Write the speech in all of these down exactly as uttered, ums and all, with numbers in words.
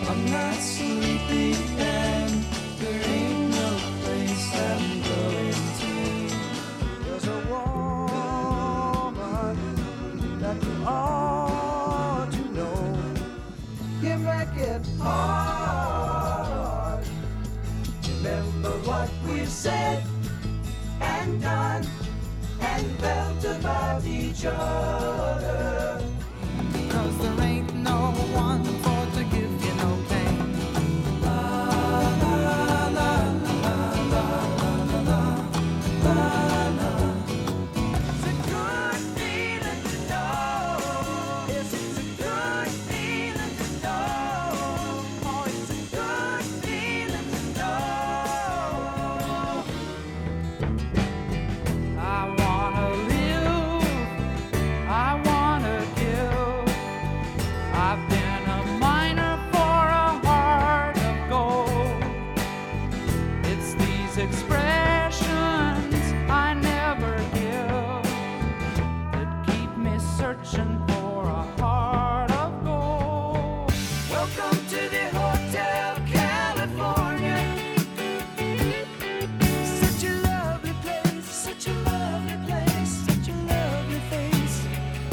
I'm not sleepy and there ain't no place I'm going to. There's a woman that you ought to know. You make it hard. Remember what we've said and done and felt about each other. 'Cause there ain't no one for to give you no pain. La la la la la la la la la. It's a good feeling to know. Yes, it's a good feeling to know. Oh, it's a good feeling to know. I wanna live, I wanna give. I've been a miner for a heart of gold. It's these expressions I never give that keep me searching for a heart of gold. Welcome to the Hotel California. Such a lovely place, such a lovely place, such a lovely face.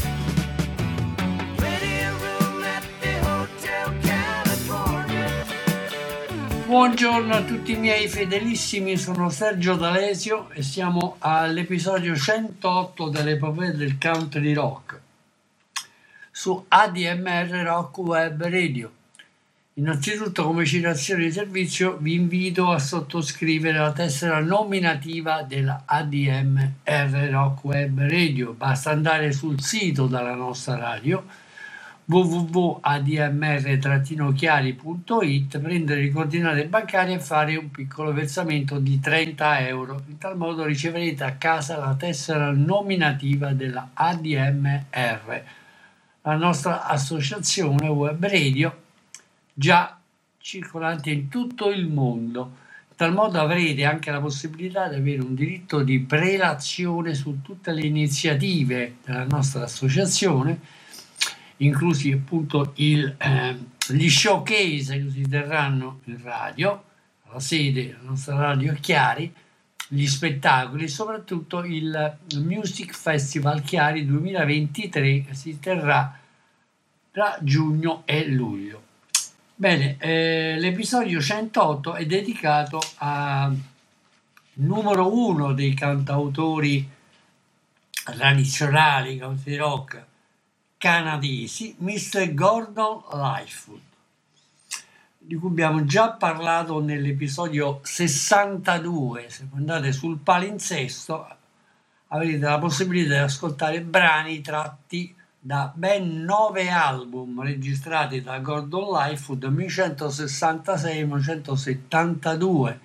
Ready a room at the Hotel California. Buongiorno a tutti i miei fedelissimi, sono Sergio D'Alesio e siamo all'episodio centootto dell'epopea del country rock su A D M R Rock Web Radio. Innanzitutto, come citazione di servizio, vi invito a sottoscrivere la tessera nominativa della A D M R Rock Web Radio. Basta andare sul sito della nostra radio w w w punto a d m r chiari punto i t, prendere le coordinate bancarie e fare un piccolo versamento di trenta euro. In tal modo riceverete a casa la tessera nominativa della A D M R, la nostra associazione web radio già circolante in tutto il mondo. In tal modo avrete anche la possibilità di avere un diritto di prelazione su tutte le iniziative della nostra associazione, inclusi appunto il, eh, gli showcase che si terranno in radio, alla sede della nostra radio Chiari, gli spettacoli e soprattutto il Music Festival Chiari duemilaventitré che si terrà tra giugno e luglio. Bene, eh, l'episodio centootto è dedicato al numero uno dei cantautori tradizionali country rock canadesi, mister Gordon Lightfoot, di cui abbiamo già parlato nell'episodio sessantadue. Se andate sul palinsesto avrete la possibilità di ascoltare brani tratti da ben nove album registrati da Gordon Lightfoot dal millenovecentosessantasei al millenovecentosettantadue,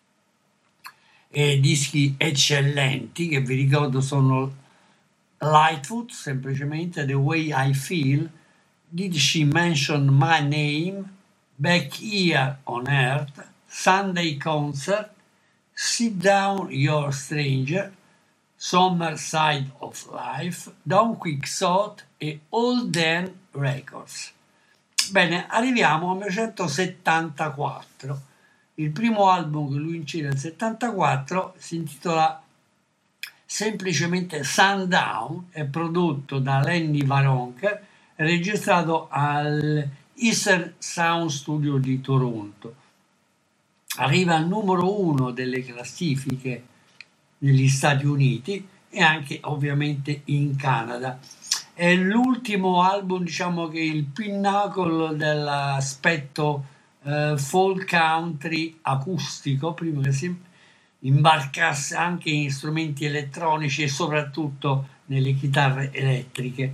e dischi eccellenti che vi ricordo sono Lightfoot, semplicemente The Way I Feel, Did She Mention My Name, Back Here on Earth, Sunday Concert, Sit Down You're Stranger, Summer Side of Life, Don't Quixote e All Then Records. Bene, arriviamo al millenovecentosettantaquattro. Il primo album che lui incide nel settantaquattro si intitola semplicemente Sundown, è prodotto da Lenny Waronker e registrato al Eastern Sound Studio di Toronto. Arriva al numero uno delle classifiche negli Stati Uniti e anche ovviamente in Canada. È l'ultimo album, diciamo che è il pinnacolo dell'aspetto eh, folk country acustico, prima che si imbarcasse anche in strumenti elettronici e soprattutto nelle chitarre elettriche.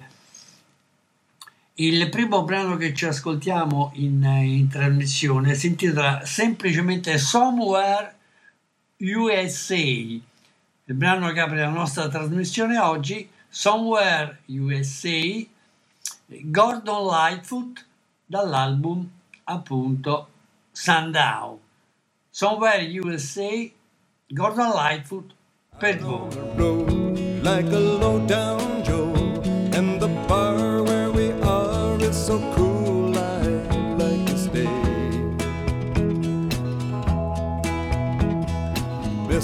Il primo brano che ci ascoltiamo in, in trasmissione si intitola semplicemente Somewhere U S A. Il brano che apre la nostra trasmissione oggi, Somewhere U S A, Gordon Lightfoot, dall'album appunto Sundown. Somewhere U S A, Gordon Lightfoot, per voi. Like a low down Joe, and the bar where we are is so cool, I'd like to stay.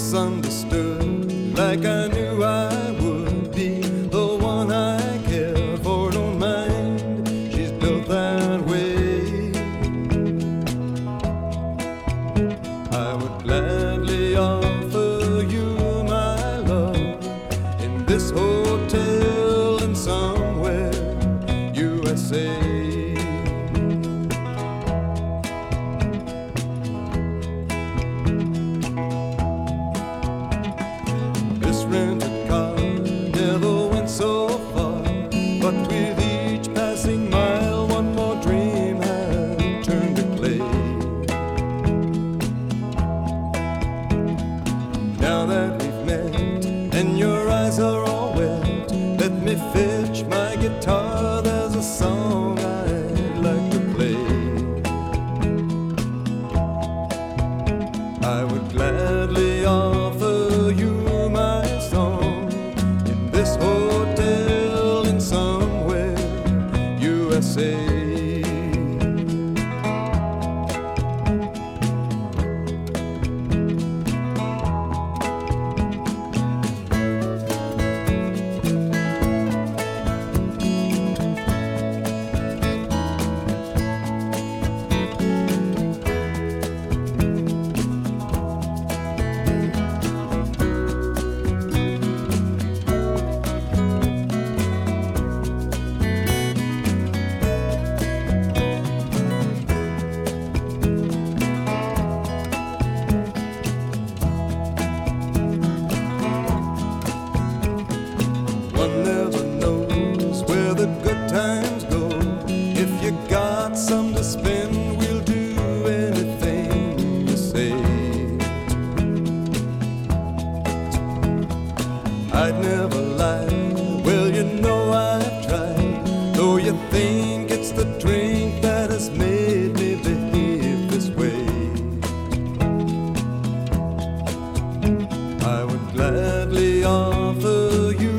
misunderstood, like I knew I would be. The one I care for, don't mind, she's built that way. I would gladly offer you my love in this hotel in somewhere U S A. Rented car never went so far, but with each passing mile one more dream had turned to clay. Now that we've met and your eyes are all wet, let me fetch my guitar, there's a song I'd like to play. I would gladly offer you this hotel in somewhere U S A. One never knows where the good times go. If you got some to spend, we'll do anything you say. I'd never lie, well you know I've tried, though you think it's the drink that has made me behave this way. I would gladly offer you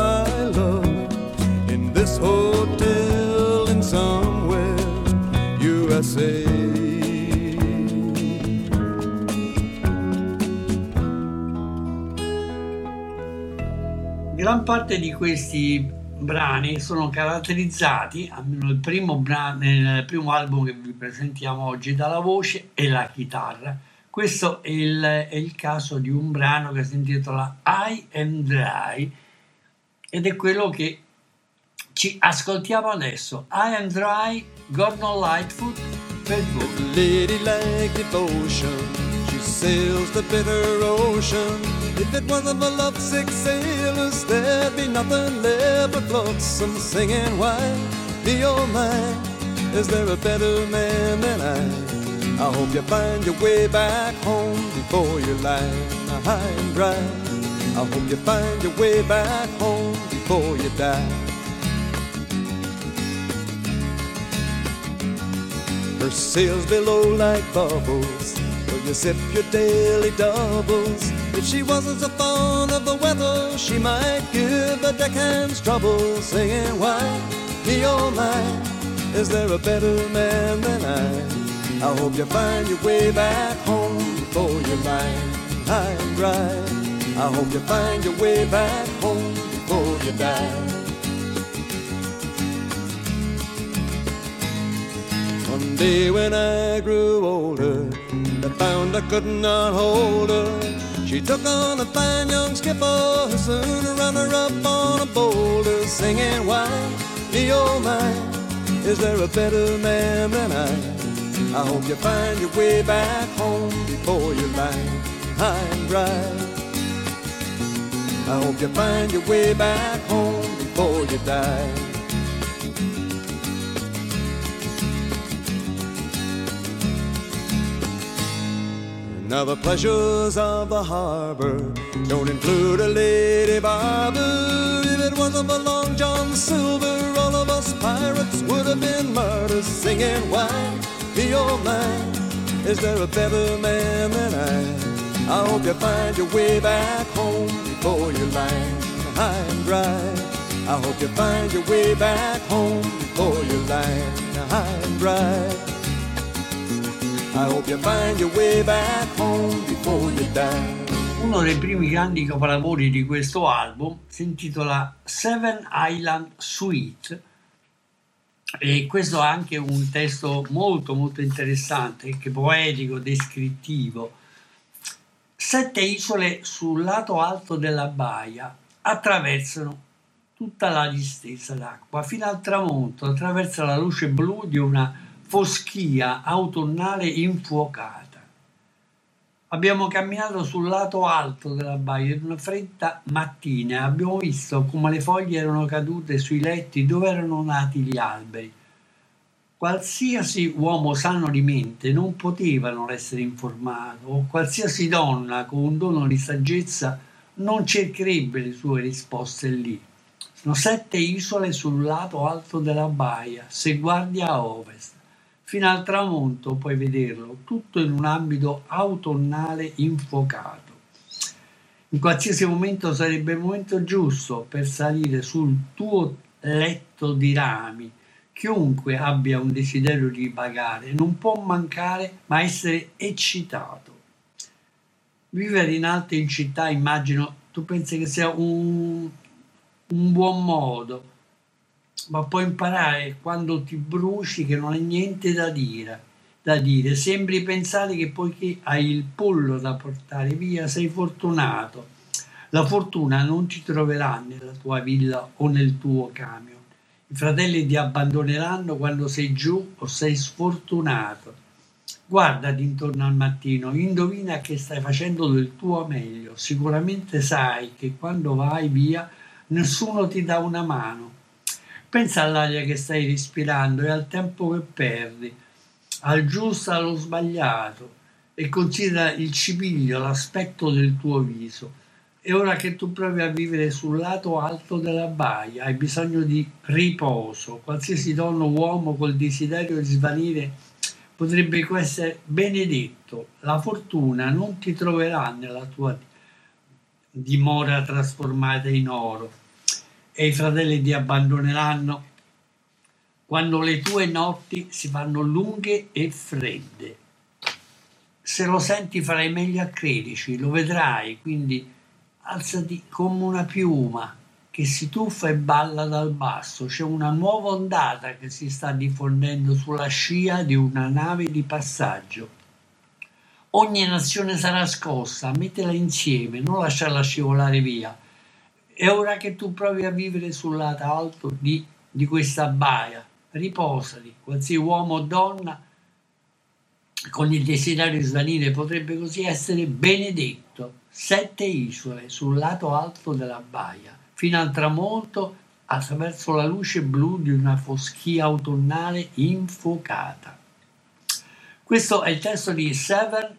this hotel in somewhere U S A. Gran parte di questi brani sono caratterizzati, almeno il primo brano, nel primo album che vi presentiamo oggi, dalla voce e la chitarra. Questo è il, è il caso di un brano che si intitola I Am Dry ed è quello che ci ascoltiamo adesso. I Am Dry, Gordon Lightfoot per voi. Lady like devotion, she sails the bitter ocean. If it wasn't for lovesick sailors, there'd be nothing left but flotsam singing. Why be all mine? Is there a better man than I? I hope you find your way back home before you lie high and dry. I hope you find your way back home before you die. Her sails below like bubbles, so you sip your daily doubles. If she wasn't so fond of the weather, she might give the deckhands trouble, singing, why be all mine? Is there a better man than I? I hope you find your way back home before you lie high and dry. I hope you find your way back home before you die. One day when I grew older, I found I could not hold her. She took on a fine young skipper who soon ran her up on a boulder, singing, why be all mine? Is there a better man than I? I hope you find your way back home before you lie high and dry. I hope you find your way back home before you die. Now the pleasures of the harbor don't include a lady barber. If it wasn't for Long John Silver, all of us pirates would have been martyrs, singing, why be all mine? Is there a better man than I? I hope you find your way back home before you lie high and dry. I hope you find your way back home before you lie high and dry. I hope you find your way back home before you die. Uno dei primi grandi capolavori di questo album si intitola Seven Island Suite e questo ha anche un testo molto molto interessante, che poetico, descrittivo. Sette isole sul lato alto della baia attraversano tutta la distesa d'acqua fino al tramonto, attraverso la luce blu di una foschia autunnale infuocata. Abbiamo camminato sul lato alto della baia in una fredda mattina e abbiamo visto come le foglie erano cadute sui letti dove erano nati gli alberi. Qualsiasi uomo sano di mente non poteva non essere informato, o qualsiasi donna con un dono di saggezza non cercherebbe le sue risposte lì. Sono sette isole sul lato alto della baia, se guardi a ovest. Fino al tramonto puoi vederlo, tutto in un ambito autunnale infuocato. In qualsiasi momento sarebbe il momento giusto per salire sul tuo letto di rami. Chiunque abbia un desiderio di vagare non può mancare ma essere eccitato. Vivere in alto in città, immagino, tu pensi che sia un, un buon modo, ma puoi imparare quando ti bruci che non hai niente da dire, da dire. Sembri pensare che poiché hai il pollo da portare via sei fortunato. La fortuna non ti troverà nella tua villa o nel tuo camion. I fratelli ti abbandoneranno quando sei giù o sei sfortunato. Guardati intorno al mattino, indovina che stai facendo del tuo meglio. Sicuramente sai che quando vai via nessuno ti dà una mano. Pensa all'aria che stai respirando e al tempo che perdi, al giusto e allo sbagliato, e considera il cipiglio, l'aspetto del tuo viso. E ora che tu provi a vivere sul lato alto della baia, hai bisogno di riposo. Qualsiasi donna o uomo col desiderio di svanire potrebbe essere benedetto. La fortuna non ti troverà nella tua dimora trasformata in oro. E i fratelli ti abbandoneranno quando le tue notti si fanno lunghe e fredde. Se lo senti farai meglio a crederci, lo vedrai, quindi alzati come una piuma che si tuffa e balla dal basso. C'è una nuova ondata che si sta diffondendo sulla scia di una nave di passaggio. Ogni nazione sarà scossa, mettila insieme, non lasciarla scivolare via. E ora che tu provi a vivere sul lato alto di, di questa baia, riposati. Qualsiasi uomo o donna con il desiderio di svanire potrebbe così essere benedetto. Sette isole sul lato alto della baia, fino al tramonto, attraverso la luce blu di una foschia autunnale infuocata. Questo è il testo di Seven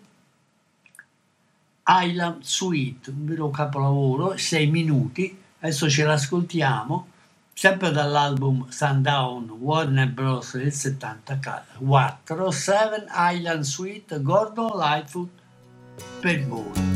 Island Suite, un vero capolavoro, sei minuti. Adesso ce l'ascoltiamo, sempre dall'album Sundown Warner Bros. Del settantaquattro, Seven Island Suite, Gordon Lightfoot per voi.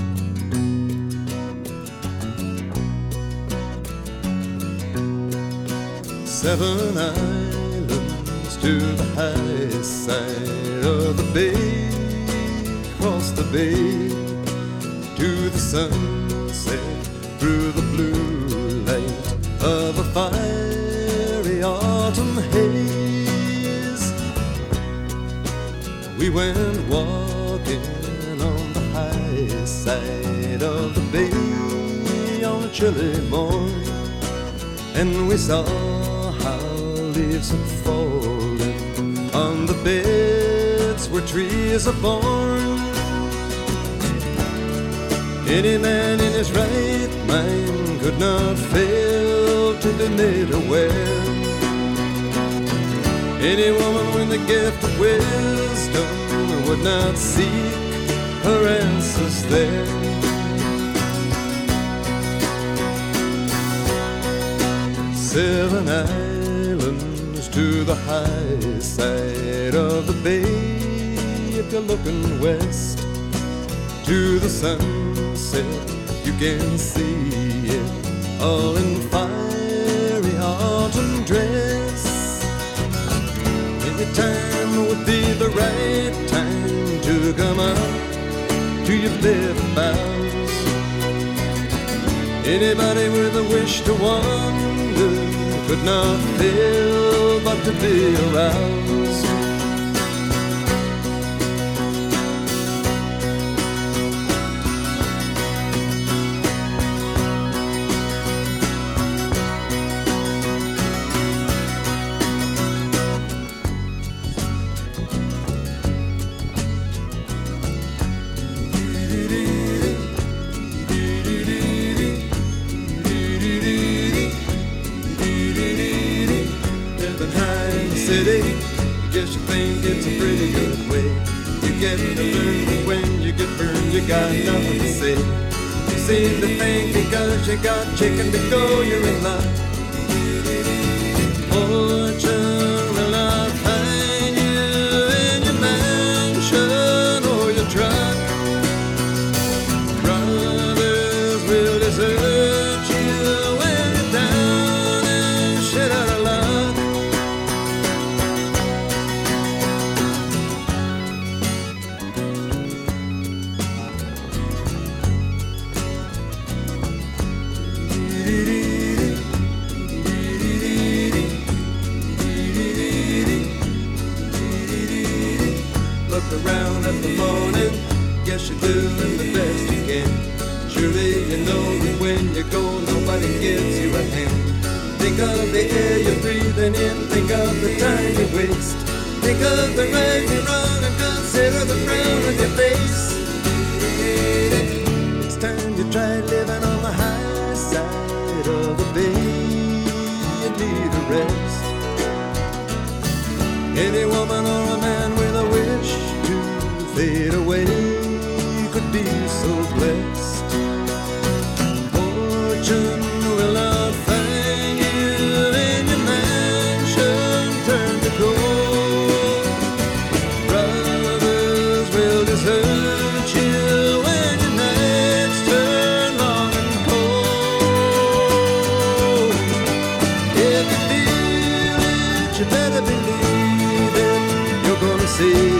Seven islands to the high side of the bay, across the bay to the sunset, through the blue light of a fiery autumn haze. We went walking on the high side of the bay on a chilly morning, and we saw how leaves had fallen on the beds where trees are born. Any man in his right mind could not fail to be made aware. Any woman with the gift of wisdom would not seek her answers there. Seven islands to the high side of the bay. If you're looking west to the sunset, you can see it all in fiery autumn dress. Any time would be the right time to come up to your bed boughs Anybody with a wish to wander could not fail but to be aroused. Guess you think it's a pretty good way. You get burned, but when you get burned, you got nothing to say. You seem to think because you got chicken to go, you're in luck. Fortune will not find you in your mansion or your truck. Brothers will desert you when you're down and shit out of luck. Around at the morning, guess you're doing the best you can. Surely you know that when you go, nobody gives you a hand. Think of the air you're breathing in, think of the time you waste. Think of the right and wrong and consider the frown on your face. It's time you try living on the high side of the bay. You need a rest. Any woman or a man with a wish fade away could be so blessed. Fortune will not find you in your mansion turned to gold. Brothers will desert you when your nights turn long and cold. If you feel it, you better believe it. You're gonna see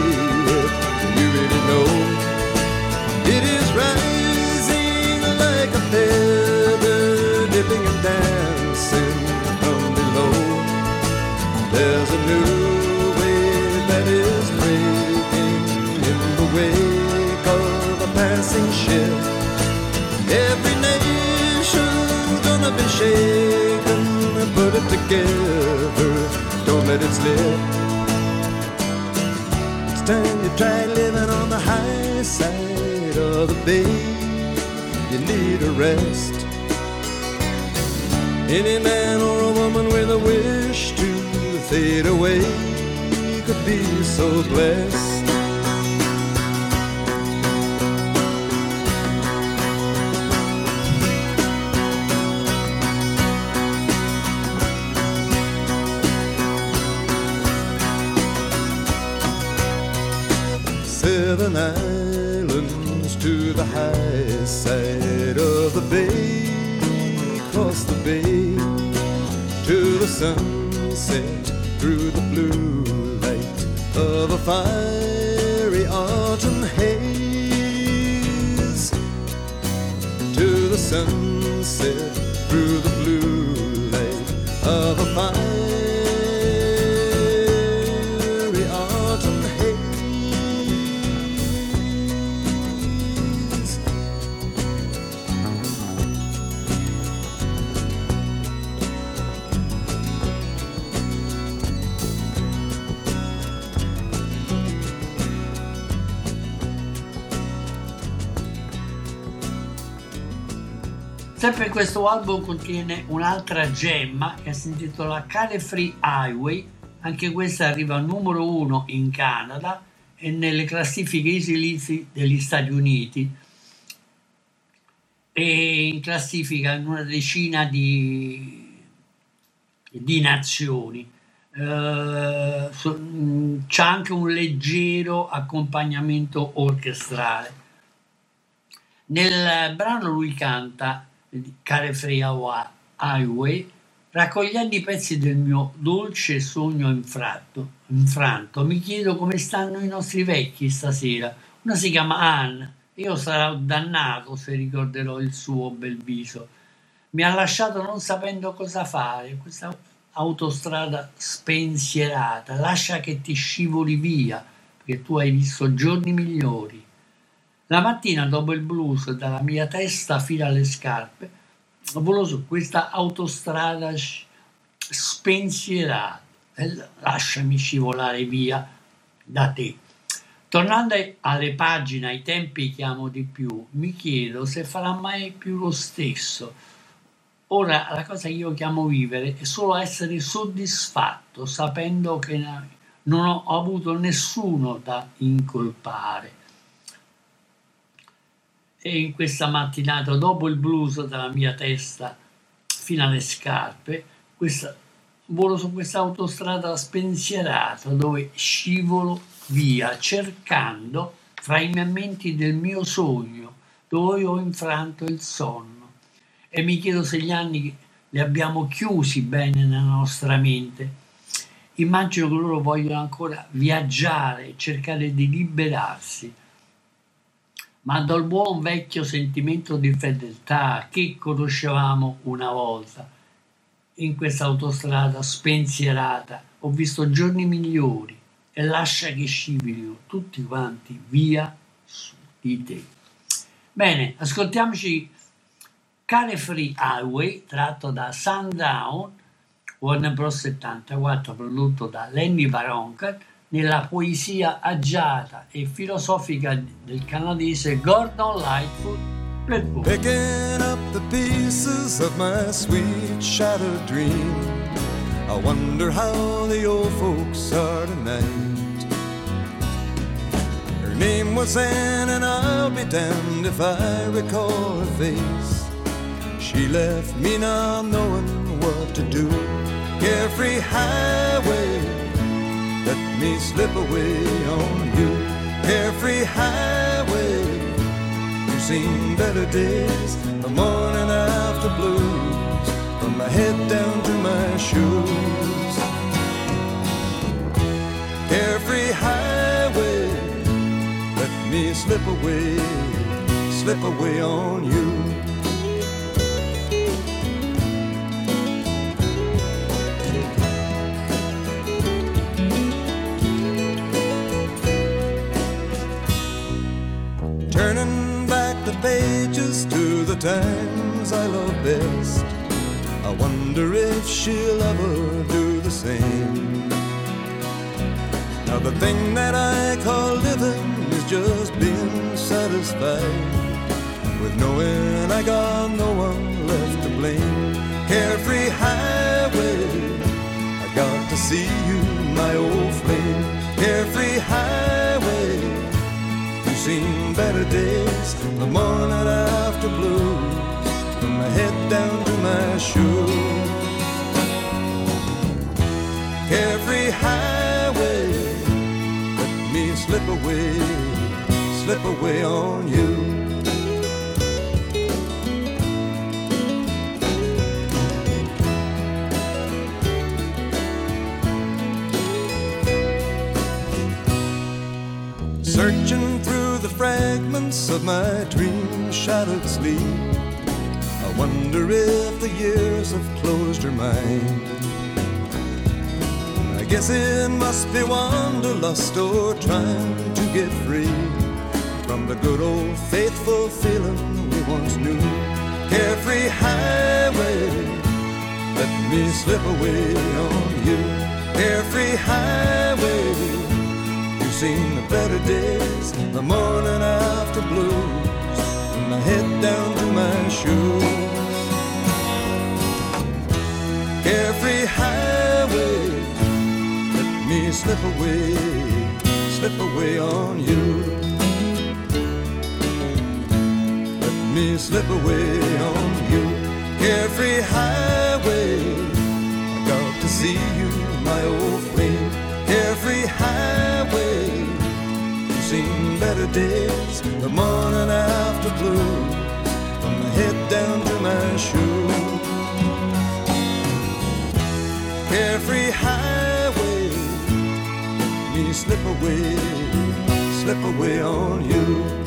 it is rising like a feather, dipping and dancing from below. There's a new wave that is breaking in the wake of a passing ship. Every nation's gonna be shaken, put it together, don't let it slip. It's time you try living on the high side of the bay. You need a rest. Any man or a woman with a wish to fade away could be so blessed. Seven islands to the high side of the bay, across the bay to the sunset through the blue light of a fiery autumn haze. To the sunset through the blue light of a fiery autumn haze. Sempre questo album contiene un'altra gemma che si intitola Carefree Highway, anche questa arriva al numero uno in Canada e nelle classifiche easy degli Stati Uniti e in classifica in una decina di, di nazioni. Uh, so, c'è anche un leggero accompagnamento orchestrale. Nel brano lui canta Carefree Highway, raccogliendo i pezzi del mio dolce sogno infratto, infranto. Mi chiedo come stanno i nostri vecchi stasera. Una si chiama Anne, io sarò dannato se ricorderò il suo bel viso. mi ha lasciato non sapendo cosa fare, questa autostrada spensierata, lascia che ti scivoli via, perché tu hai visto giorni migliori. La mattina dopo il blues dalla mia testa fino alle scarpe, volo su questa autostrada spensierata e lasciami scivolare via da te. Tornando alle pagine, ai tempi che amo di più, mi chiedo se farà mai più lo stesso. Ora la cosa che io chiamo vivere è solo essere soddisfatto, sapendo che non ho avuto nessuno da incolpare. E in questa mattinata, dopo il blues dalla mia testa fino alle scarpe, questa, volo su questa autostrada spensierata dove scivolo via, cercando fra i frammenti del mio sogno, dove ho infranto il sonno. E mi chiedo se gli anni li abbiamo chiusi bene nella nostra mente. Immagino che loro vogliono ancora viaggiare, cercare di liberarsi. Ma dal buon vecchio sentimento di fedeltà che conoscevamo una volta, in questa autostrada spensierata, ho visto giorni migliori e lascia che scivolino tutti quanti via su di te. Bene, ascoltiamoci Carefree Highway, tratto da Sundown, Warner Bros. settantaquattro, prodotto da Lenny Waronker, nella poesia agiata e filosofica del canadese Gordon Lightfoot per voi. Picking up the pieces of my sweet shattered dream, I wonder how the old folks are tonight. Her name was Anne and I'll be damned if I recall her face. She left me not knowing what to do. Carefree highway, let me slip away on you. Carefree highway, you've seen better days, the morning after blues, from my head down to my shoes. Carefree highway, let me slip away, slip away on you. Turning back the pages to the times I love best, I wonder if she'll ever do the same. Now the thing that I call living is just being satisfied with knowing I got no one left to blame. Carefree highway, I got to see you, my old flame. Carefree highway, you've seen better days, the morning after blues, from my head down to my shoes. Carefree highway, let me slip away, slip away on you. Searching through the fragments of my dream-shattered sleep, I wonder if the years have closed her mind. I guess it must be wanderlust or trying to get free from the good old faithful feeling we once knew. Carefree highway, let me slip away on you. Carefree highway, seen the better days, the morning after blues, from my head down to my shoes. Carefree highway, let me slip away, slip away on you. Let me slip away on you. Carefree highway, I got to see you, my old flame. Carefree highway, you've seen better days, the morning after blues, from my head down to my shoes. Carefree highway, let me slip away, slip away on you.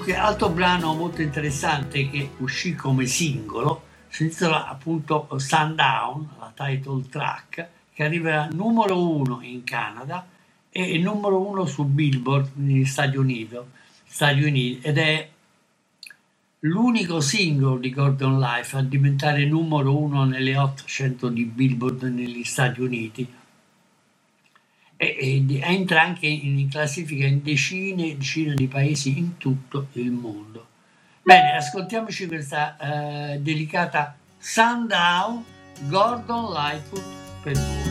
Comunque, altro brano molto interessante che uscì come singolo si intitola appunto Sundown, la title track, che arriverà numero uno in Canada e numero uno su Billboard negli Stati Uniti, Stati Uniti ed è l'unico singolo di Gordon Life a diventare numero uno nelle ottocento di Billboard negli Stati Uniti e, e entra anche in classifica in decine e decine di paesi in tutto il mondo. Bene, ascoltiamoci questa eh, delicata Sundown, Gordon Lightfoot per voi.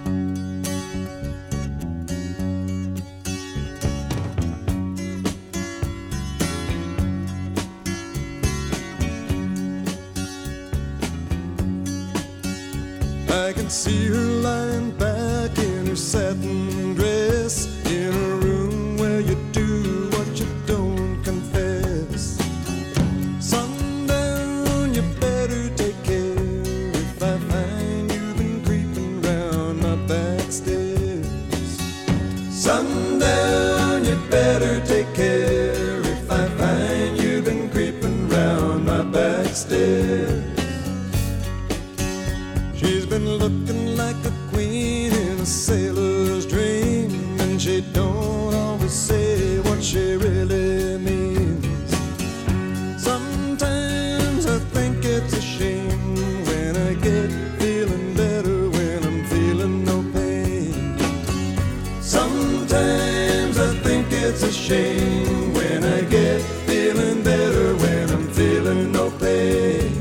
I can see her lying back in her satin dress in a room where you do what you don't confess. Sundown, you better take care if I find you've been creeping round my back stairs. Sundown, you better take care if I find you've been creeping round my back stairs. She's been looking like a queen in a sailor's dream, and she don't always say what she really means. Sometimes I think it's a shame when I get feeling better when I'm feeling no pain. Sometimes I think it's a shame when I get feeling better when I'm feeling no pain.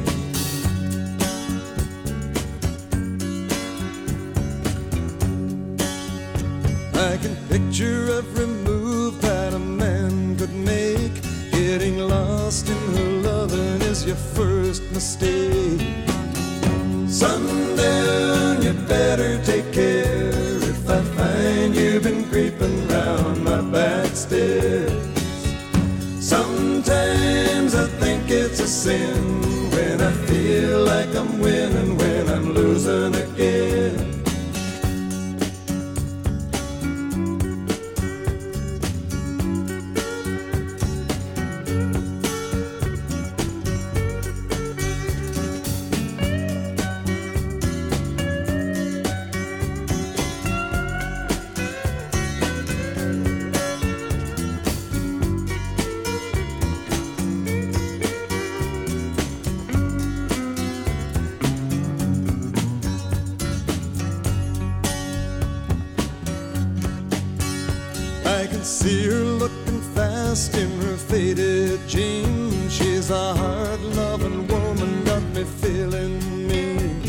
I can picture every move that a man could make. Getting lost in her loving is your first mistake. Sundown, you better take care if I find you've been creeping round my back stairs. Sometimes I think it's a sin when I feel like I'm winning when I'm losing again. I can see her looking fast in her faded jeans. She's a hard-loving woman, got me feeling mean.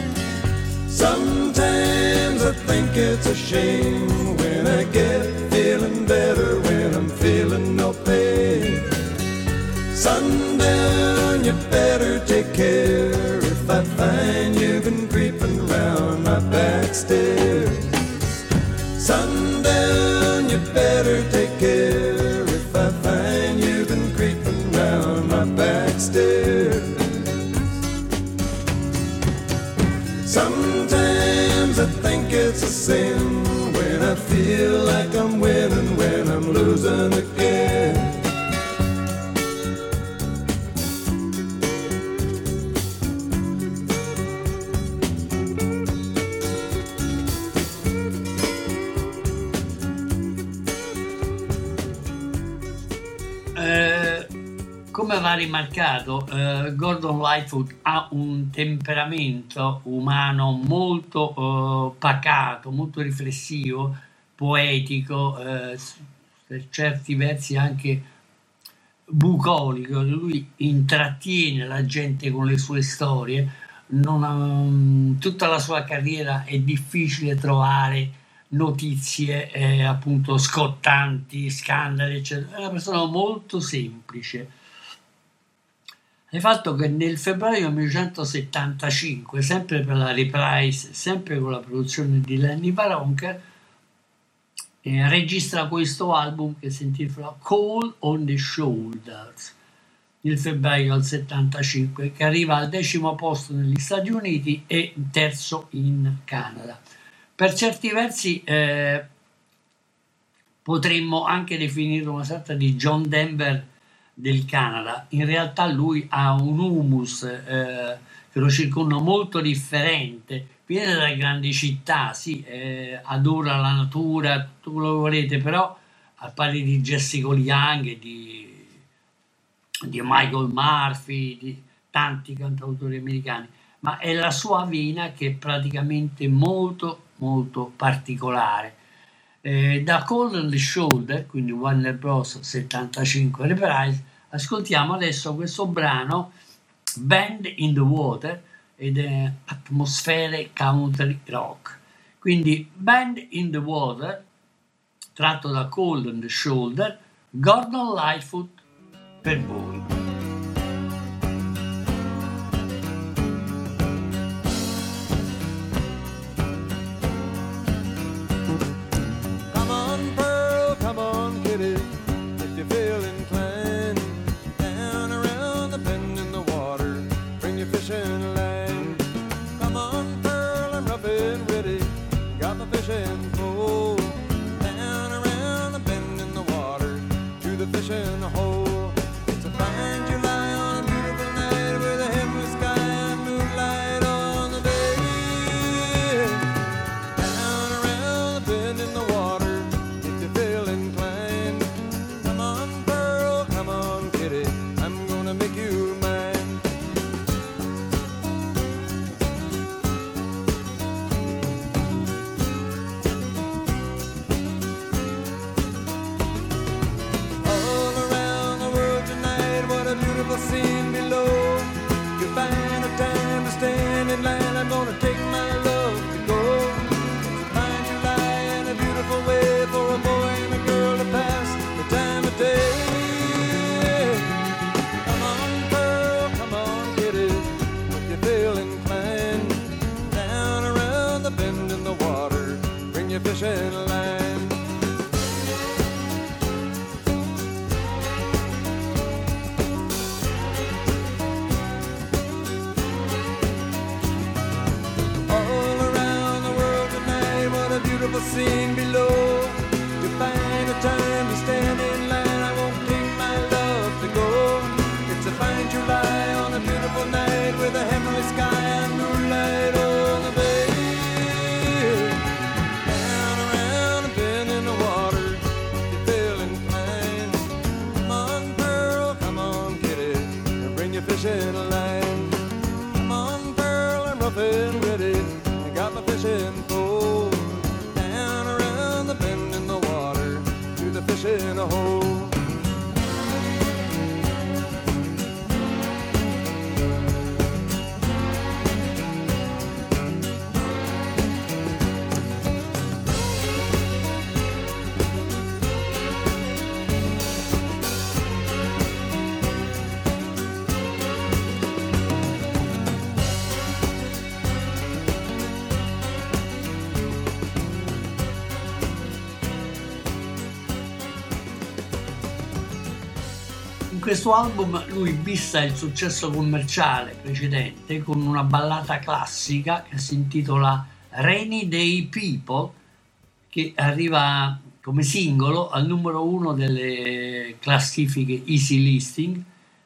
Sometimes I think it's a shame when I get feeling better when I'm feeling no pain. Sundown, you better take care if I find you've been creeping round my back stairs. Sundown, you better take care if I find you've been creeping round my back stairs. Sometimes I think it's a sin when I feel like I'm winning when I'm losing again. Come va rimarcato, eh, Gordon Lightfoot ha un temperamento umano molto eh, pacato, molto riflessivo, poetico, eh, per certi versi anche bucolico. Lui intrattiene la gente con le sue storie. Non ha, tutta la sua carriera è difficile trovare notizie eh, appunto scottanti, scandali, eccetera. È una persona molto semplice. Il fatto che nel febbraio millenovecentosettantacinque, sempre per la Reprise, sempre con la produzione di Lenny Waronker, eh, registra questo album che si intitola Cold on the Shoulders, il febbraio del settantacinque, che arriva al decimo posto negli Stati Uniti e terzo in Canada. Per certi versi eh, potremmo anche definirlo una sorta di John Denver del Canada. In realtà lui ha un humus eh, che lo circonda molto differente, viene dalle grandi città, sì, eh, adora la natura, tutto quello che volete, però al pari di Jessica Young e di, di Michael Murphy, di tanti cantautori americani, ma è la sua vena che è praticamente molto molto particolare. Eh, da Cold on the Shoulder, quindi Warner Bros. settantacinque Reprise, ascoltiamo adesso questo brano Band in the Water ed è atmosfere country rock. Quindi Band in the Water, tratto da Cold on the Shoulder, Gordon Lightfoot per voi. Fishing hole. It's a fine July on a beautiful night with a heavenly sky and moonlight on the bay. Down around the bend in the water, if you feel inclined. Come on, Pearl, come on, kitty, I'm gonna make you mine. Scene below, you find a time to stand in line. I'm gonna take my love to go. It's a fine July and a beautiful way for a boy and a girl to pass the time of day. Come on, Pearl, come on, kitty, if you feel inclined. Down around the bend in the water, bring your fishing line. Scene below, you find a time to stand in line. I won't take my love to go. It's a fine July on a beautiful night with a heavenly sky and moonlight on the bay. Down around a bend in the water, you feel inclined. Come on, Pearl, come on, kitty, and bring your fishing line. Come on, Pearl, I'm rough and ready. I got my fishing pole. Bend in the water, to the fish in a hole. In questo album lui bissa il successo commerciale precedente con una ballata classica che si intitola Rainy Day People, che arriva come singolo al numero uno delle classifiche Easy Listening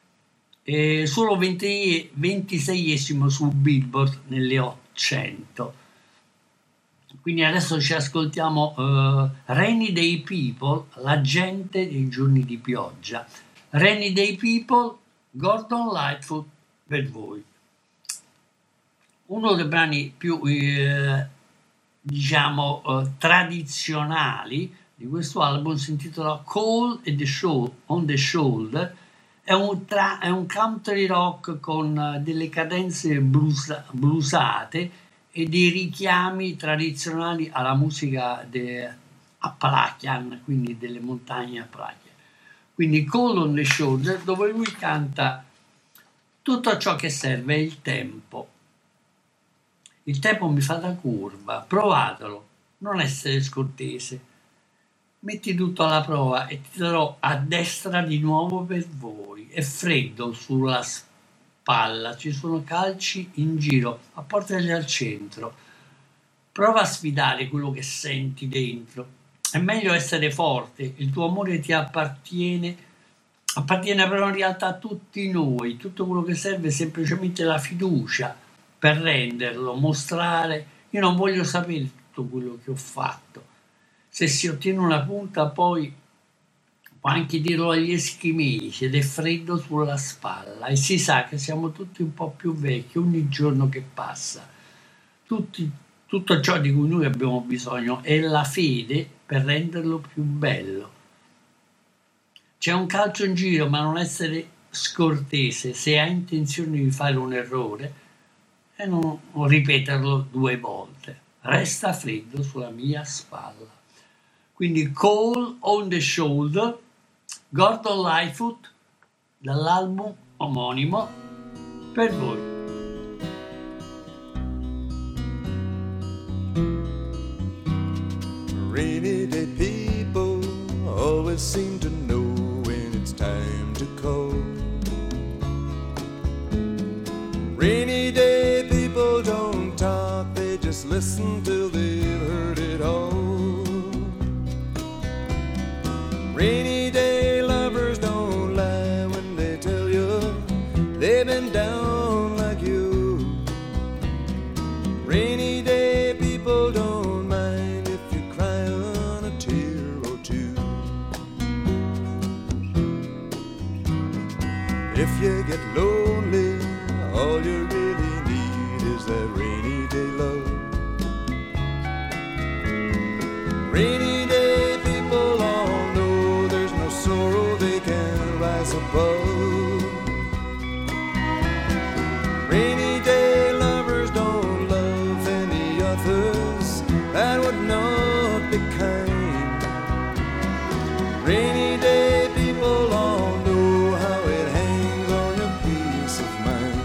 e solo venti, ventiseiesimo su Billboard nelle ottocento. Quindi adesso ci ascoltiamo uh, Rainy Day People, la gente dei giorni di pioggia. Rainy Day People, Gordon Lightfoot per voi. Uno dei brani più eh, diciamo eh, tradizionali di questo album si intitola Cold at the Shoulder, on the Shoulder. È un, tra, è un country rock con delle cadenze blues, bluesate e dei richiami tradizionali alla musica de Appalachian, quindi delle montagne Appalachian. Quindi Cold on the Shoulder, dove lui canta tutto ciò che serve è il tempo. Il tempo mi fa da curva, provatelo, non essere scortese. Metti tutto alla prova e ti darò a destra di nuovo per voi. È freddo sulla spalla, ci sono calci in giro, apportali al centro. Prova a sfidare quello che senti dentro. È meglio essere forte, il tuo amore ti appartiene appartiene però in realtà a tutti noi. Tutto quello che serve è semplicemente la fiducia per renderlo, mostrare. Io non voglio sapere tutto quello che ho fatto. Se si ottiene una punta, poi può anche dirlo agli eschimesi ed è freddo sulla spalla, e si sa che siamo tutti un po' più vecchi ogni giorno che passa. Tutti, tutto ciò di cui noi abbiamo bisogno è la fede per renderlo più bello. C'è un calcio in giro, ma non essere scortese se hai intenzione di fare un errore e non, non ripeterlo due volte. Resta freddo sulla mia spalla. Quindi Cold on the Shoulder, Gordon Lightfoot, dall'album omonimo, per voi. Rainy day people always seem to know when it's time to call. Rainy day people don't talk, they just listen till they've heard it all. Rainy day lovers don't lie when they tell you they've been down like you. Rainy day people don't mind if you cry on a tear or two. If you get lonely, all you really need is that rainy day love. Rainy day people all know there's no sorrow they can rise above. Rainy day lovers don't love any others, that would not be kind. Rainy day people all know how it hangs on your peace of mind.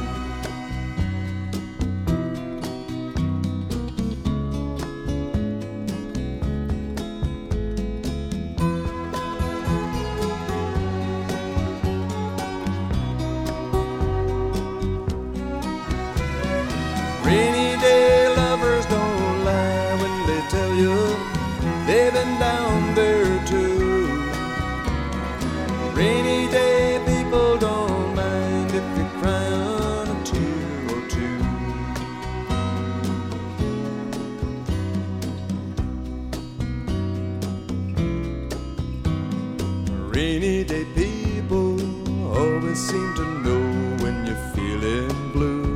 Rainy day lovers don't lie when they tell you they've been down there too. Rainy day people don't mind if you cry on a tear or two. Rainy day people always seem to know when you're feeling blue.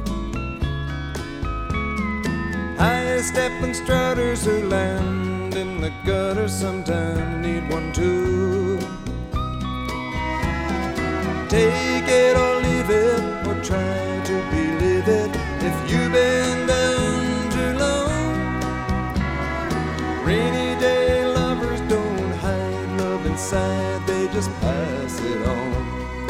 High-stepping strutters who land in the gutter sometimes need one too. Take it or leave it, or try to believe it if you've been down too long. Rainy day lovers don't hide love inside, they just pass it on.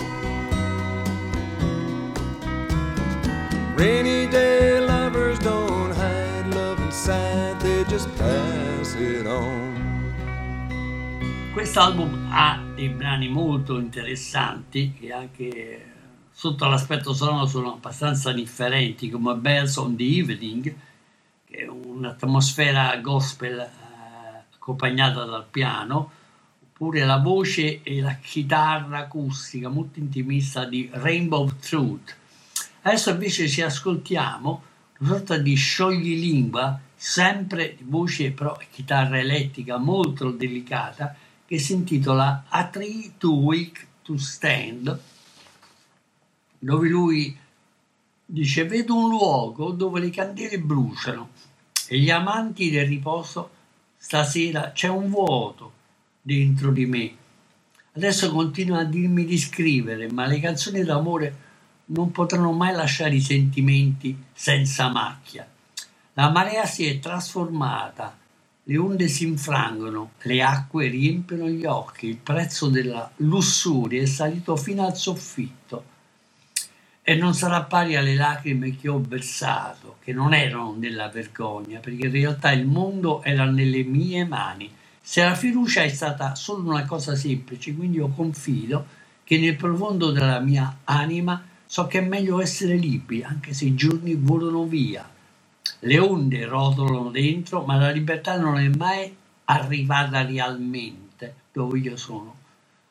Rainy day lovers don't hide love inside, they just pass it on. Quest'album ha dei brani molto interessanti che anche sotto l'aspetto sonoro sono abbastanza differenti, come Bells on the Evening, che è un'atmosfera gospel eh, accompagnata dal piano, oppure la voce e la chitarra acustica molto intimista di Rainbow Truth. Adesso invece ci ascoltiamo una sorta di scioglilingua, sempre di voce però chitarra elettrica molto delicata, che si intitola A Tree Too Weak to Stand, dove lui dice: vedo un luogo dove le candele bruciano e gli amanti del riposo, stasera c'è un vuoto dentro di me. Adesso continua a dirmi di scrivere, ma le canzoni d'amore non potranno mai lasciare i sentimenti senza macchia. La marea si è trasformata, le onde si infrangono, le acque riempiono gli occhi, il prezzo della lussuria è salito fino al soffitto e non sarà pari alle lacrime che ho versato, che non erano nella vergogna, perché in realtà il mondo era nelle mie mani. Se la fiducia è stata solo una cosa semplice, quindi io confido che nel profondo della mia anima so che è meglio essere liberi, anche se i giorni volano via. Le onde rotolano dentro, ma la libertà non è mai arrivata realmente dove io sono.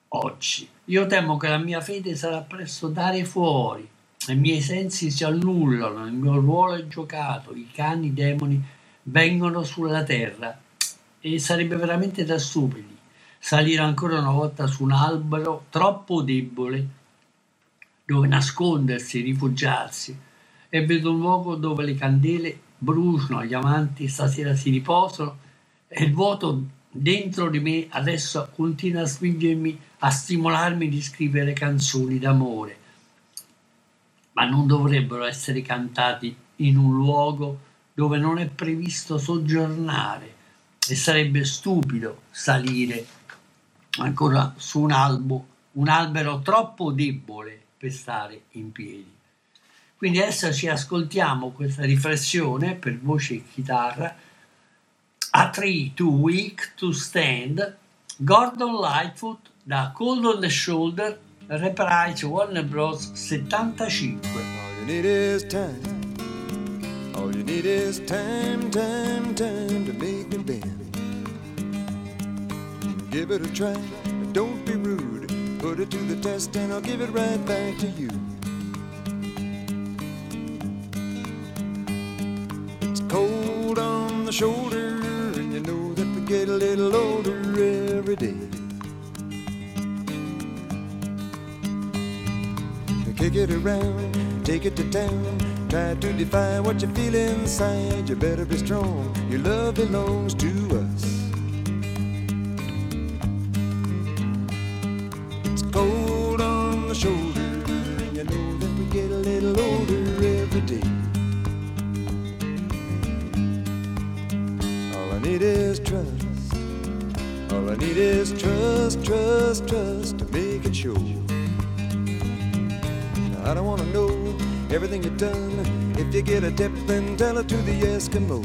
oggi. Io temo che la mia fede sarà presto dare fuori, i miei sensi si annullano, il mio ruolo è giocato, i cani demoni vengono sulla terra e sarebbe veramente da stupidi salire ancora una volta su un albero troppo debole dove nascondersi, rifugiarsi, e vedo un luogo dove le candele bruciano, gli amanti stasera si riposano e il vuoto dentro di me adesso continua a spingermi, a stimolarmi di scrivere canzoni d'amore, ma non dovrebbero essere cantati in un luogo dove non è previsto soggiornare e sarebbe stupido salire ancora su un albo, un albero troppo debole per stare in piedi. Quindi adesso ci ascoltiamo questa riflessione per voce e chitarra, A Tree Too Weak to Stand, Gordon Lightfoot da Cold on the Shoulder, Reprise Warner Bros. settantacinque. All you need is time. All you need is time, time, time to make me bend. Give it a try, don't be rude. Put it to the test and I'll give it right back to you. It's cold on the shoulder and you know that we get a little older every day. Kick it around, take it to town. Try to define what you feel inside. You better be strong, your love belongs to us. It's cold on the shoulder, and you know that we get a little older every day. All I need is trust. All I need is trust, trust, trust to make it sure. I don't wanna know everything you've done. If you get a tip, then tell it to the Eskimos.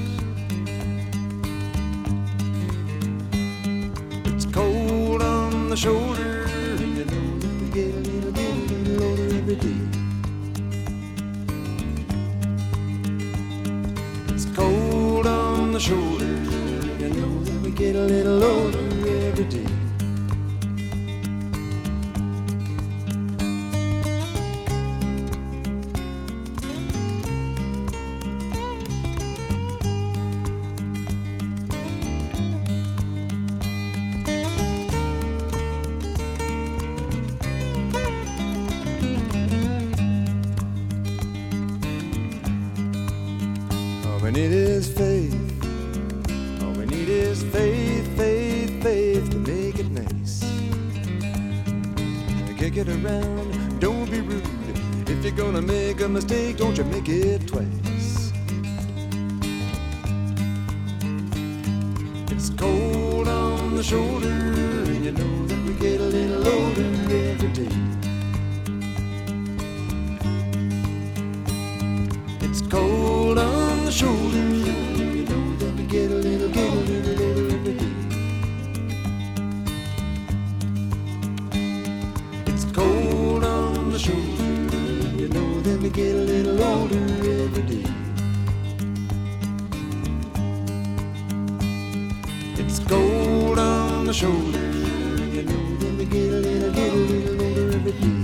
It's cold on the shoulder, and you know that we get a little, little, little older every day. It's cold on the shoulder, and you know that we get a little older every day. All we need is faith. All we need is faith, faith, faith to make it nice. Kick it around, don't be rude. If you're gonna make a mistake, don't you make it twice. It's cold on the shoulder, and you know that we get a little older every day. It's cold on the shoulder, you know that we get a little, get a little older every day. It's cold on the shoulder, you know that we get a little older every day. It's cold on the shoulder, you know that we get a little, get a little older every day.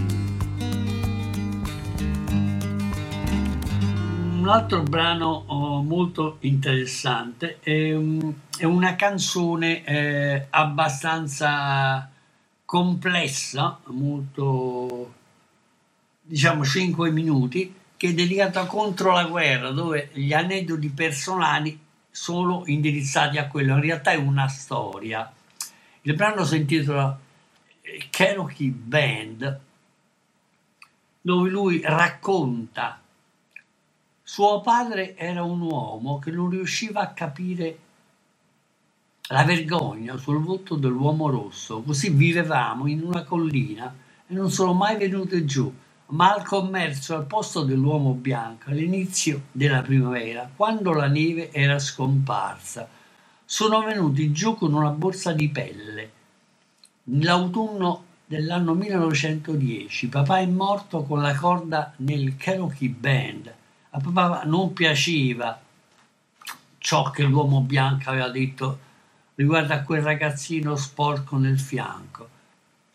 Un altro brano oh, molto interessante è, um, è una canzone eh, abbastanza complessa, molto, diciamo, cinque minuti, che è dedicata contro la guerra, dove gli aneddoti personali sono indirizzati a quello. In realtà è una storia. Il brano si intitola Cherokee Band, dove lui racconta: suo padre era un uomo che non riusciva a capire la vergogna sul volto dell'uomo rosso, così vivevamo in una collina e non sono mai venute giù, ma al commercio al posto dell'uomo bianco all'inizio della primavera, quando la neve era scomparsa. Sono venuti giù con una borsa di pelle. Nell'autunno dell'anno millenovecentodieci papà è morto con la corda nel Cherokee Band. A papà non piaceva ciò che l'uomo bianco aveva detto riguardo a quel ragazzino sporco nel fianco.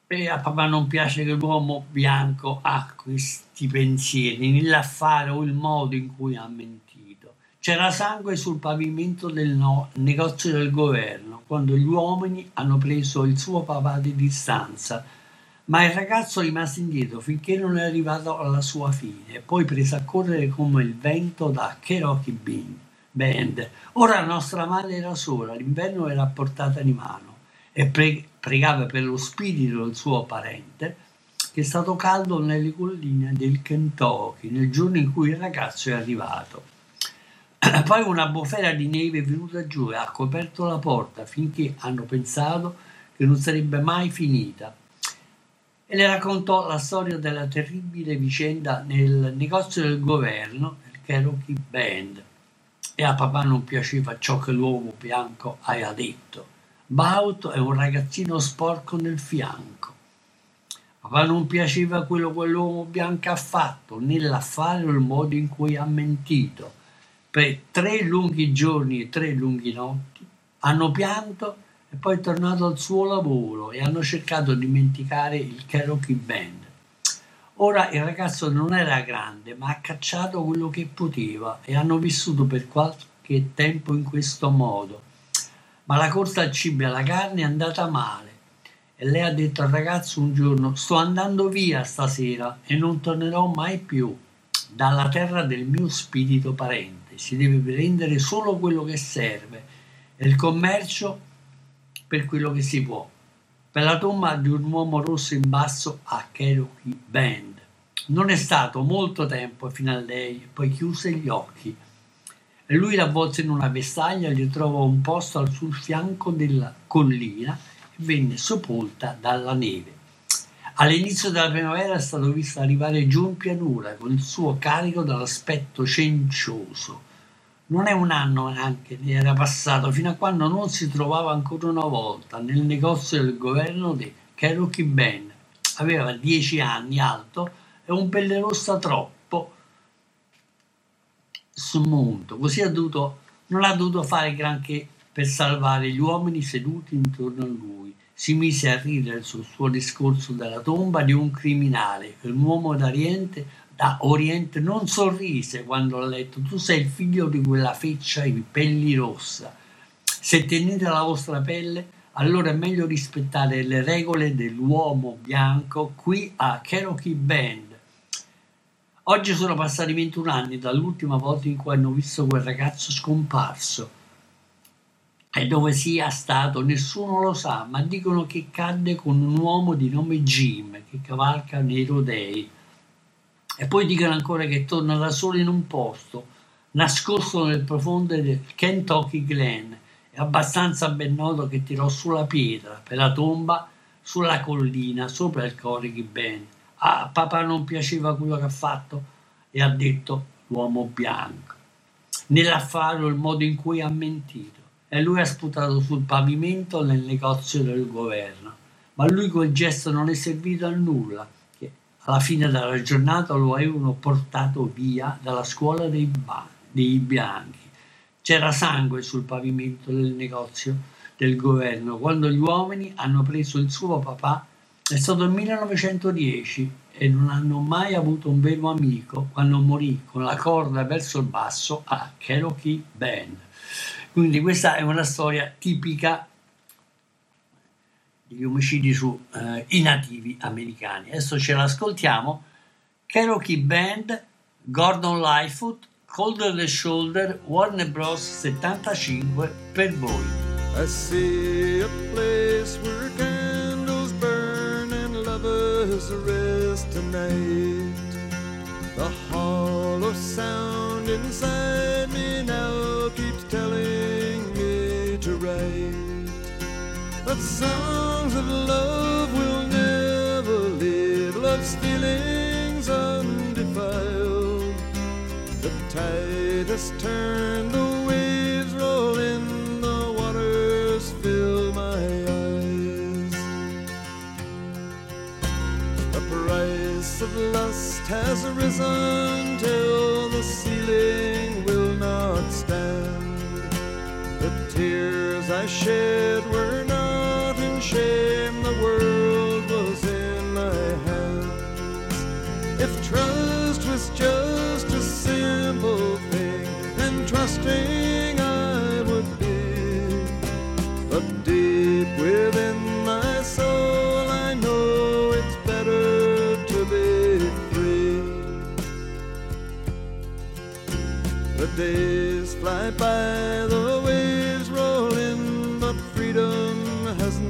E a papà non piace che l'uomo bianco ha questi pensieri, né l'affare o il modo in cui ha mentito. C'era sangue sul pavimento del no- negozio del governo quando gli uomini hanno preso il suo papà di distanza, ma il ragazzo rimase indietro finché non è arrivato alla sua fine e poi prese a correre come il vento da Cherokee Bean Band. Ora la nostra madre era sola, l'inverno era a portata di mano e pre- pregava per lo spirito del suo parente che è stato caldo nelle colline del Kentucky nel giorno in cui il ragazzo è arrivato. Poi una bufera di neve è venuta giù e ha coperto la porta finché hanno pensato che non sarebbe mai finita. E le raccontò la storia della terribile vicenda nel negozio del governo, il Cherokee Band. E a papà non piaceva ciò che l'uomo bianco aveva detto. Baut è un ragazzino sporco nel fianco. A papà non piaceva quello che l'uomo bianco ha fatto, né l'affare o il modo in cui ha mentito. Per tre lunghi giorni e tre lunghe notti hanno pianto e poi è tornato al suo lavoro e hanno cercato di dimenticare il Cherokee Band. Ora il ragazzo non era grande, ma ha cacciato quello che poteva e hanno vissuto per qualche tempo in questo modo. Ma la corsa al cibo e alla carne è andata male e lei ha detto al ragazzo un giorno: sto andando via stasera e non tornerò mai più dalla terra del mio spirito parente. Si deve prendere solo quello che serve e il commercio per quello che si può. Per la tomba di un uomo rosso in basso a Cherokee Band. Non è stato molto tempo fino a lei, poi chiuse gli occhi. E lui l'avvolse in una vestaglia, gli trovò un posto sul fianco della collina e venne sepolta dalla neve. All'inizio della primavera è stato visto arrivare giù in pianura con il suo carico dall'aspetto cencioso. Non è un anno neanche ne era passato fino a quando non si trovava ancora una volta nel negozio del governo di Cherokee Band. Aveva dieci anni, alto e un pelle rossa troppo smunto, così ha dovuto, non ha dovuto fare granché per salvare gli uomini seduti intorno a lui. Si mise a ridere sul suo discorso della tomba di un criminale. Un uomo d'Oriente, da Oriente non sorrise quando ha letto: tu sei il figlio di quella feccia ai pelli rossa. Se tenete la vostra pelle, allora è meglio rispettare le regole dell'uomo bianco qui a Cherokee Band. Oggi sono passati ventuno anni dall'ultima volta in cui hanno visto quel ragazzo scomparso. E dove sia stato nessuno lo sa, ma dicono che cadde con un uomo di nome Jim che cavalca nei rodei. E poi dicono ancora che torna da solo in un posto, nascosto nel profondo del Kentucky Glen. È abbastanza ben noto che tirò sulla pietra per la tomba sulla collina sopra il Cherokee Band. A papà non piaceva quello che ha fatto e ha detto l'uomo bianco, nell'affare o il modo in cui ha mentito. E lui ha sputato sul pavimento nel negozio del governo. Ma lui quel gesto non è servito a nulla, che alla fine della giornata lo avevano portato via dalla scuola dei, ba- dei bianchi. C'era sangue sul pavimento del negozio del governo quando gli uomini hanno preso il suo papà. È stato il millenovecentodieci e non hanno mai avuto un vero amico quando morì con la corda verso il basso a Cherokee Band. Quindi questa è una storia tipica degli omicidi su eh, i nativi americani. Adesso ce l'ascoltiamo. Cherokee Band, Gordon Lightfoot, Colder the Shoulder, Warner Bros. settantacinque per voi. I see a place where candles burn and lovers rest tonight. The hollow sound inside me now keeps telling me to write. But songs of love will never live, love's feelings undefiled. The tide has turned, the waves roll in, the waters fill my eyes. The price of lust has risen till the ceiling will not stand. The tears I shed were not in shame, the world was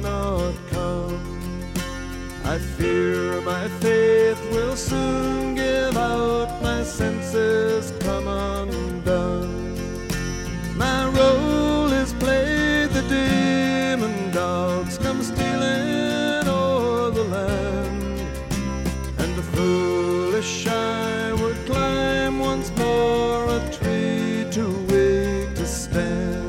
not come. I fear my faith will soon give out, my senses come undone. My role is played, the demon dogs come stealing o'er the land, and the foolish I would climb once more a tree too weak to stand.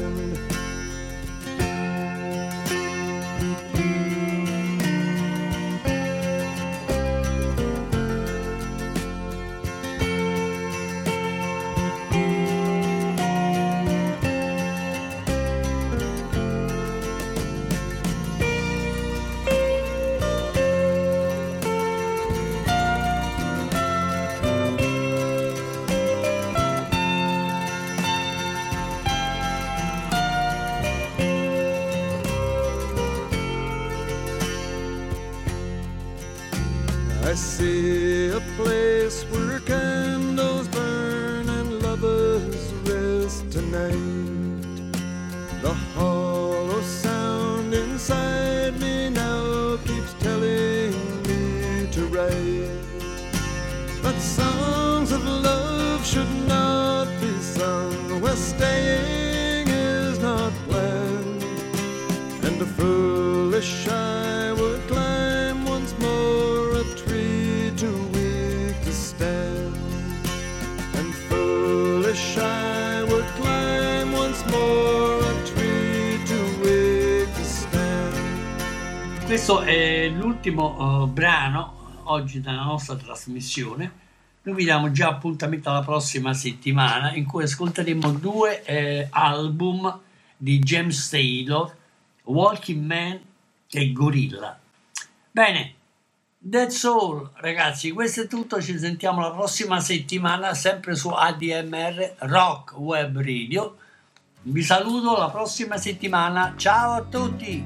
I see a place where candles burn and lovers rest tonight. The hollow sound inside me now keeps telling me to write. But songs of love should not be sung where staying is not planned, and the foolish I would climb once more a tree too weak to stand, and foolish I would climb once more a tree too weak to stand. Questo è l'ultimo uh, brano oggi della nostra trasmissione. Noi vi diamo già appuntamento alla prossima settimana, in cui ascolteremo due eh, album di James Taylor, Walking Man e Gorilla. Bene, that's all ragazzi, questo è tutto, ci sentiamo la prossima settimana sempre su A D M R Rock Web Radio. Vi saluto la prossima settimana, ciao a tutti.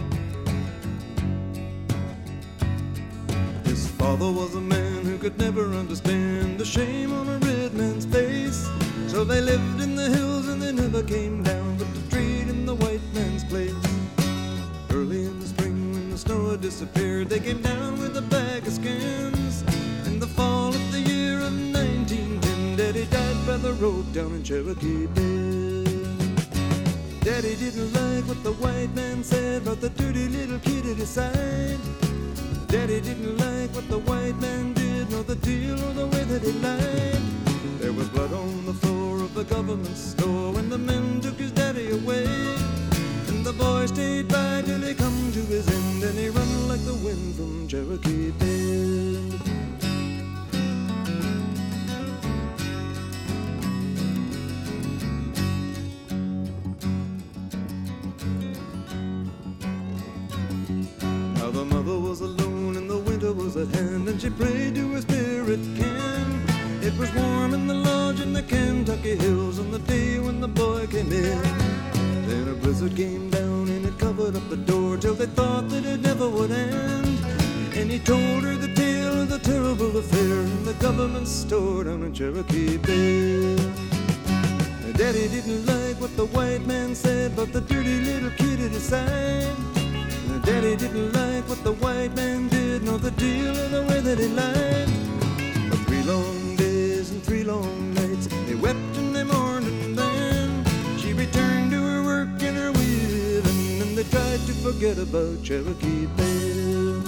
His father was a man who could never understand the shame on a red man's face. So they lived in the hills and they never came down, but to trade in the white man's place. Early in the spring when the snow had disappeared, they came down with a bag of skins. In the fall of the year of nineteen ten, Daddy died by the road down in Cherokee Bend. Daddy didn't like what the white man said about the dirty little kid at his side. Daddy didn't like what the white man did, nor the deal or the way that he lied. There was blood on the floor of the government store when the men took his daddy away. And the boy stayed by till he come to his end, and he run like the wind from Cherokee Bend. Now the mother was alone and the winter was at hand, and she prayed to her spirit can. It was warm in the lodge in the Kentucky hills on the day when the boy came in. Then a blizzard came down and it covered up the door till they thought that it never would end. And he told her the tale of the terrible affair in the government store down in Cherokee Bend. Daddy didn't like what the white man said about the dirty little kid at his side. Daddy didn't like what the white man did, nor the deal or the way that he lied. For three long days and three long nights, they wept and they mourned, and then she returned to her work and her weaving, and they tried to forget about Cherokee Bend.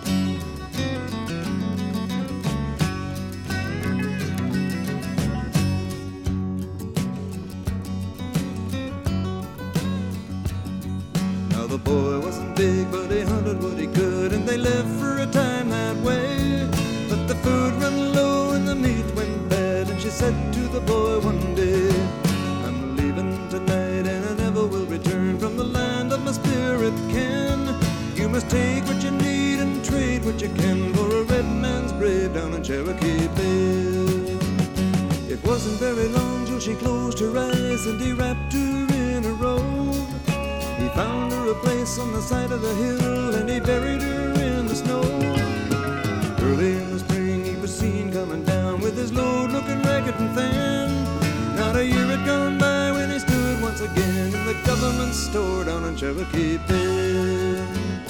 Now the boy wasn't big, but he hunted what he could, and they lived for a time that way. But the food ran low and the meat went bad, and she said to the boy one day, I'm leaving tonight and I never will return from the land of my spirit ken. You must take what you need and trade what you can for a red man's grave down in Cherokee Bay. It wasn't very long till she closed her eyes and he wrapped her in a robe. He found her a place on the side of the hill and he buried her in the snow. Early in the spring he was seen coming down with his load looking ragged and thin. Not a year had gone by when he stood once again in the government store down in Cherokee Bend.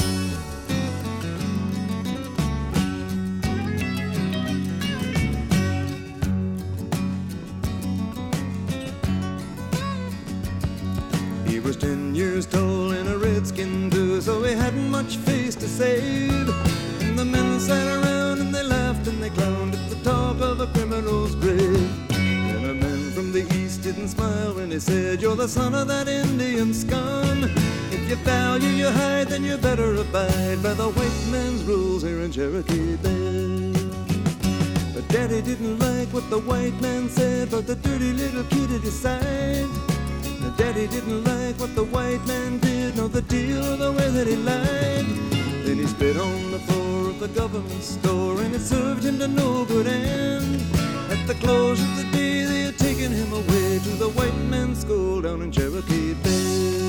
so he hadn't much face to save. And the men sat around and they laughed and they clowned at the talk of a criminal's grave. And a man from the east didn't smile when he said, you're the son of that Indian scum. If you value your hide, then you better abide by the white man's rules here in Cherokee Bay. But Daddy didn't like what the white man said about the dirty little kid at his side. Now Daddy didn't like what the white man did, nor the deal or the way that he lied. Then he spit on the floor of the government store, and it served him to no good end. At the close of the day, they had taken him away to the white man's school down in Cherokee Bay.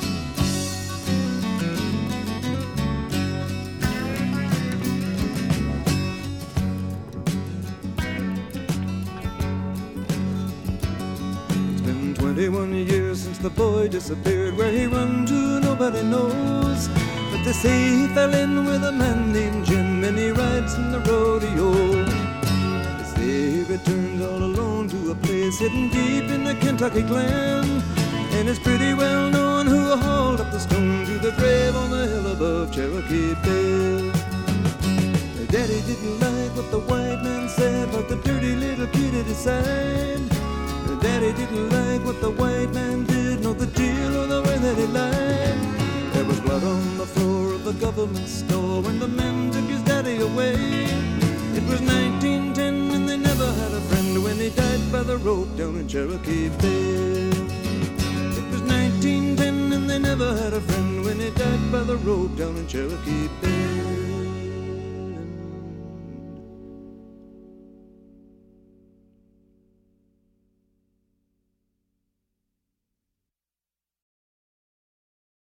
twenty-one years since the boy disappeared. Where he run to nobody knows, but they say he fell in with a man named Jim, and he rides in the rodeo. They say he returned all alone to a place hidden deep in the Kentucky Glen, and it's pretty well known who hauled up the stone to the grave on the hill above Cherokee Bay. Daddy didn't like what the white man said about the dirty little kid at his side. Daddy didn't like what the white man did, nor the deal or the way that he lied. There was blood on the floor of the government store when the men took his daddy away. It was nineteen ten and they never had a friend when he died by the rope down in Cherokee Bay. It was nineteen ten and they never had a friend when he died by the rope down in Cherokee Bay.